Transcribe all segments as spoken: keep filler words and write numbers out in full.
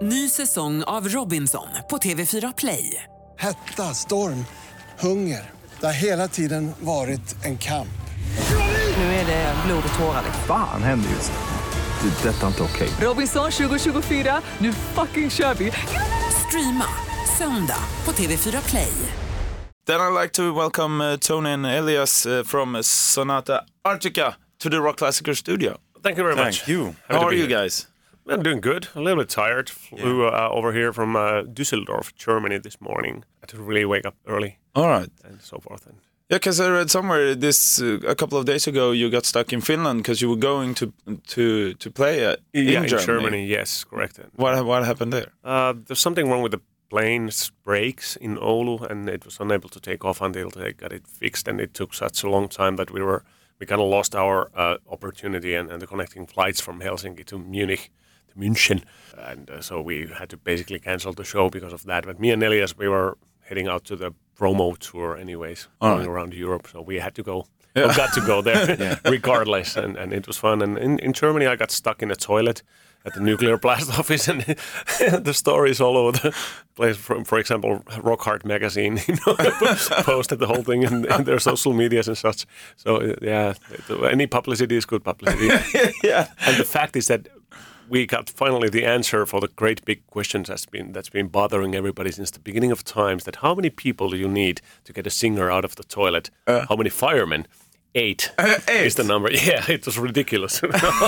Ny säsong av Robinson på T V fyra Play. Hetta, storm, hunger. Det har hela tiden varit en kamp. Nu är det blod och tårar. Fan händer just det. Det är detta inte okej. Robinson tjugo tjugofyra, nu fucking kör vi. Streama söndag på T V fyra Play. Then I'd like to welcome uh, Tony and Elias uh, from Sonata Arctica to the Rock Classicer studio. Thank you very Thank much. you. Happy How to are be you here. guys? I'm doing good. A little bit tired. Flew uh, over here from uh, Düsseldorf, Germany this morning. I had to really wake up early. All right. And so forth. And Yeah, because I read somewhere this uh, a couple of days ago you got stuck in Finland because you were going to to to play uh, in, yeah, Germany. in Germany, yes, correct. What what happened there? Uh, there's something wrong with the plane's brakes in Oulu, and it was unable to take off until they got it fixed. And it took such a long time that we were we kind of lost our uh, opportunity and, and the connecting flights from Helsinki to Munich. München, and uh, so we had to basically cancel the show because of that. But me and Elias, we were heading out to the promo tour anyways, All going right. around Europe, so we had to go, Yeah. we got to go there regardless, and, and it was fun. And in, in Germany, I got stuck in a toilet at the nuclear blast office, and the stories all over the place. For, for example, Rock Hard magazine, you know, posted the whole thing in, in their social medias and such. So uh, yeah, any publicity is good publicity. Yeah. And the fact is that we got finally the answer for the great big questions that's been that's been bothering everybody since the beginning of times. That how many people do you need to get a singer out of the toilet? Uh, how many firemen? Eight, Uh, eight? is the number. Yeah, it was ridiculous.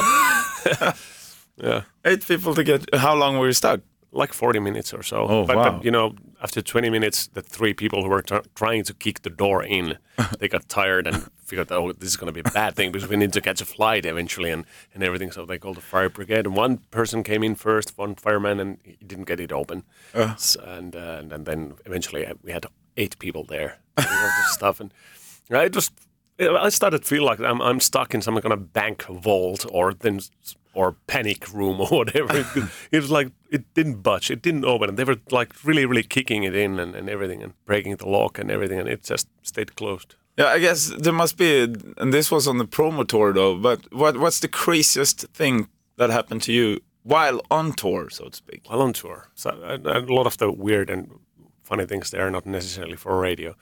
Yeah, Eight people to get. How long were you stuck? like forty minutes or so. Oh, but, wow. but you know, after twenty minutes, the three people who were tr- trying to kick the door in, they got tired and figured, oh, this is going to be a bad thing because we need to catch a flight eventually and, and everything. So they called the fire brigade. And one person came in first, one fireman, and he didn't get it open. Uh. S- and, uh, and and then eventually uh, we had eight people there doing all this stuff. And uh, it was, I started to feel like I'm I'm stuck in some kind of bank vault or then or panic room or whatever. It, it was like it didn't budge, it didn't open, and they were like really, really kicking it in and, and everything and breaking the lock and everything, and it just stayed closed. Yeah, I guess there must be. And this was on the promo tour though. But what what's the craziest thing that happened to you while on tour, so to speak? While on tour, so a, a lot of the weird and funny things there are not necessarily for radio.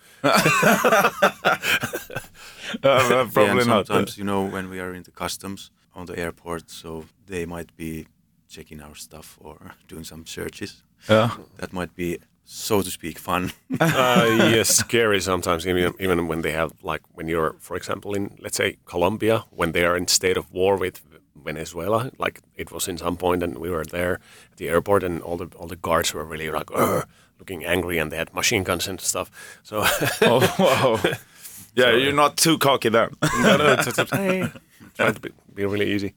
Uh, probably yeah, and not. sometimes, you know, when we are in the customs on the airport, so they might be checking our stuff or doing some searches. Yeah. That might be, so to speak, fun. uh, yes, scary sometimes, even even when they have, like, when you're, for example, in, let's say, Colombia, when they are in state of war with Venezuela, like it was in some point, and we were there at the airport, and all the all the guards were really like, "Ugh," looking angry, and they had machine guns and stuff. So, Oh wow. Yeah, you're not too cocky then. no, no, it's, it's, hey, try to be, be really easy.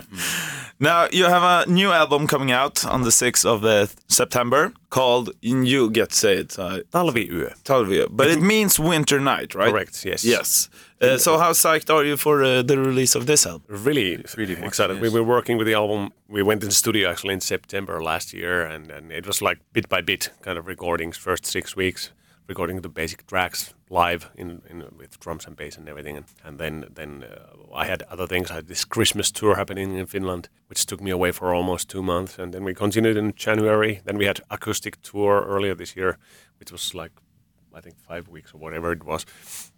Now you have a new album coming out on the sixth of uh, September called you get to say it uh, Talviyö. Talviyö, but it means winter night, right? Correct, yes. Yes. Uh, so how psyched are you for uh, the release of this album? Really, Really much, excited. yes. We were working with the album. We went in the studio actually in September last year, and, and it was like bit by bit kind of recordings. First six weeks recording the basic tracks live in, in with drums and bass and everything, and, and then then uh, I had other things. I had this Christmas tour happening in Finland, which took me away for almost two months, and then we continued in January. Then we had acoustic tour earlier this year, which was like I think five weeks or whatever it was.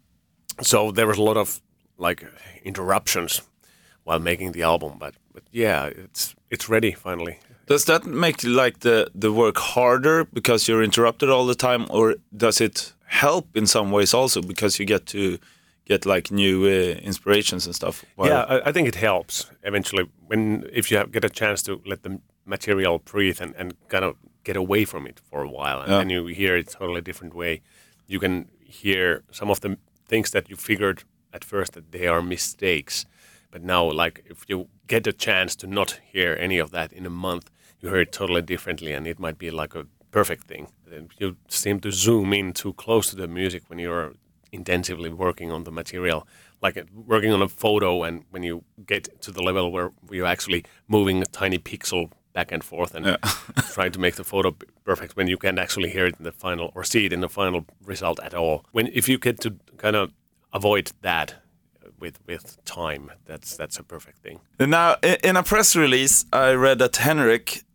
So there was a lot of like interruptions while making the album, but but yeah, it's it's ready finally. Does that make like the the work harder because you're interrupted all the time, or does it help in some ways also because you get to get like new uh, inspirations and stuff? While- Yeah, I, I think it helps eventually when if you have, get a chance to let the material breathe and, and kind of get away from it for a while, and Yeah. then you hear it totally different way. You can hear some of the things that you figured at first that they are mistakes, but now like if you get a chance to not hear any of that in a month, you hear it totally differently, and it might be like a perfect thing. Then you seem to zoom in too close to the music when you're intensively working on the material, like uh, working on a photo, and when you get to the level where you're actually moving a tiny pixel back and forth and Yeah. trying to make the photo p- perfect when you can't actually hear it in the final or see it in the final result at all. When if you get to kind of avoid that with with time, that's that's a perfect thing. Now, i- in a press release, I read that Henrik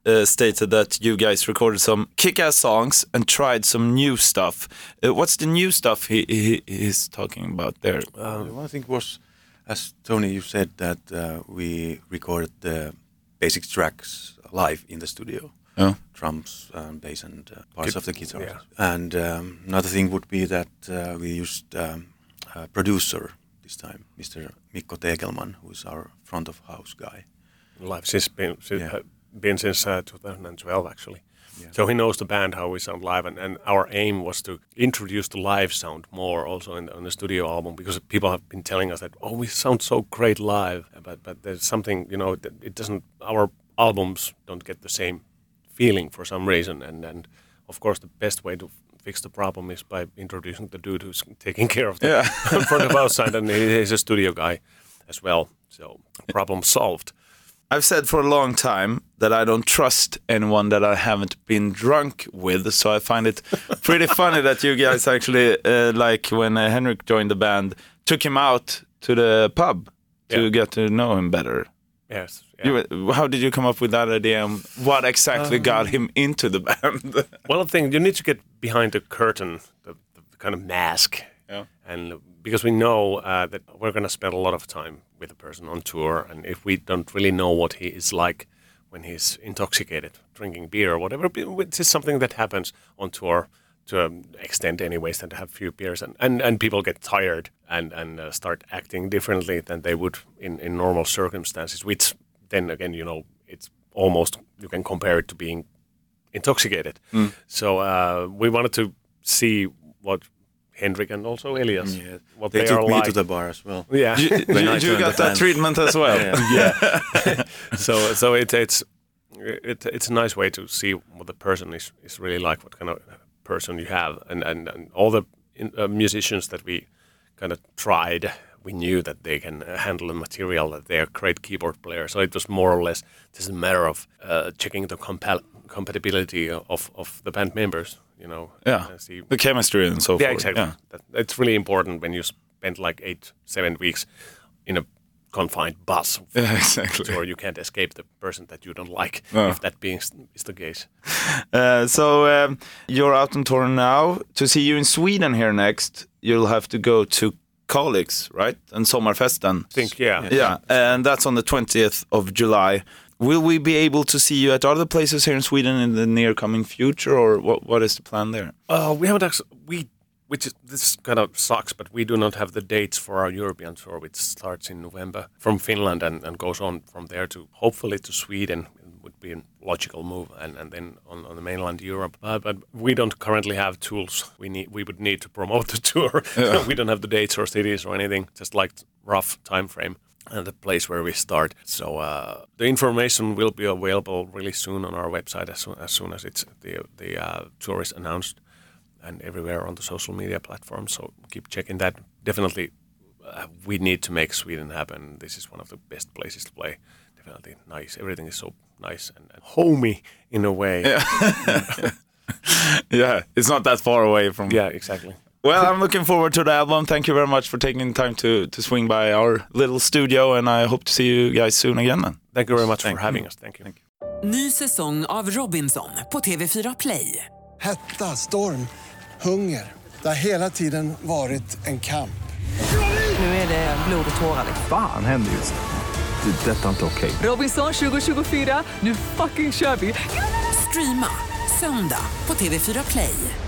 uh, stated that you guys recorded some kick-ass songs and tried some new stuff. Uh, what's the new stuff he, he he's talking about there? Uh, one thing was, as Tony, you said that uh, we recorded the basic tracks live in the studio. Oh. Drums, um, bass, and uh, parts Kit- of the guitar. yeah. And um, another thing would be that uh, we used um, a producer this time, Mister Mikko Tegelman, who is our front of house guy. Live since been since, Yeah. uh, been since uh, twenty twelve actually. Yeah. So he knows the band, how we sound live, and, and our aim was to introduce the live sound more also in the, on the studio album, because people have been telling us that, oh, we sound so great live, but but there's something, you know, that it doesn't. Our albums don't get the same feeling for some reason, and and of course the best way to fix the problem is by introducing the dude who's taking care of the Yeah. front of house side, and he- he's a studio guy as well. So problem solved. I've said for a long time that I don't trust anyone that I haven't been drunk with, so I find it pretty funny that you guys actually, uh, like when uh, Henrik joined the band, took him out to the pub to Yeah. get to know him better. Yes. Yeah. You, how did you come up with that idea, and what exactly got him into the band? Well, the thing, you need to get behind the curtain, the, the kind of mask. Yeah. And because we know uh, that we're going to spend a lot of time with a person on tour, and if we don't really know what he is like when he's intoxicated, drinking beer or whatever, which is something that happens on tour to an extent anyways, than to have few beers, and, and, and people get tired and, and uh, start acting differently than they would in, in normal circumstances, which then again, you know, it's almost, you can compare it to being intoxicated. Mm. So uh, we wanted to see what Henrik and also Elias, Yeah. what They they, took are me like. to the bar as well. Yeah. you When you, I you joined got the that band. treatment as well. Yeah. yeah. so so it, it's it, it's a nice way to see what the person is, is really like, what kind of person you have, and and, and all the in, uh, musicians that we kind of tried, we knew that they can uh, handle the material, that they are great keyboard players. So it was more or less just a matter of uh, checking the compa- compatibility of, of the band members, you know. Yeah. and see. The chemistry and so Yeah, forth. exactly. Yeah. That, it's really important when you spend like eight, seven weeks in a confined bus, Yeah, exactly. or you can't escape the person that you don't like, No. if that being is the case. Uh, so um, you're out on tour now. To see you in Sweden here next, you'll have to go to Kalix, right? And Sommarfesten. I think, yeah. Yeah, and that's on the twentieth of July. Will we be able to see you at other places here in Sweden in the near coming future, or what? What is the plan there? Uh, we haven't actually, we, which is, this kind of sucks, but we do not have the dates for our European tour, which starts in November from Finland and, and goes on from there to hopefully to Sweden. It would be a logical move, and, and then on, on the mainland Europe. Uh, but we don't currently have tools. We need we would need to promote the tour. Yeah. We don't have the dates or cities or anything, just like rough time frame and the place where we start. So uh, the information will be available really soon on our website as soon as, soon as it's the the uh, tour is announced, and everywhere on the social media platforms. So keep checking that. Definitely, uh, we need to make Sweden happen. This is one of the best places to play. Definitely nice. Everything is so nice and, and homey in a way. Yeah. Yeah, it's not that far away from. Yeah, exactly. Well, I'm looking forward to the album. Thank you very much for taking time to to swing by our little studio, and I hope to see you guys soon again. Then. Thank you very much Thank for having us. Thank you. Thank you. Ny säsong av Robinson på T V fyra Play. Hetta, storm, hunger. Det har hela tiden varit en kamp. Nu är det blod och tårar. Fan händer just det. Det är detta inte okej. Robinson tjugo tjugofyra, nu fucking kör vi! Streama söndag på T V fyra Play.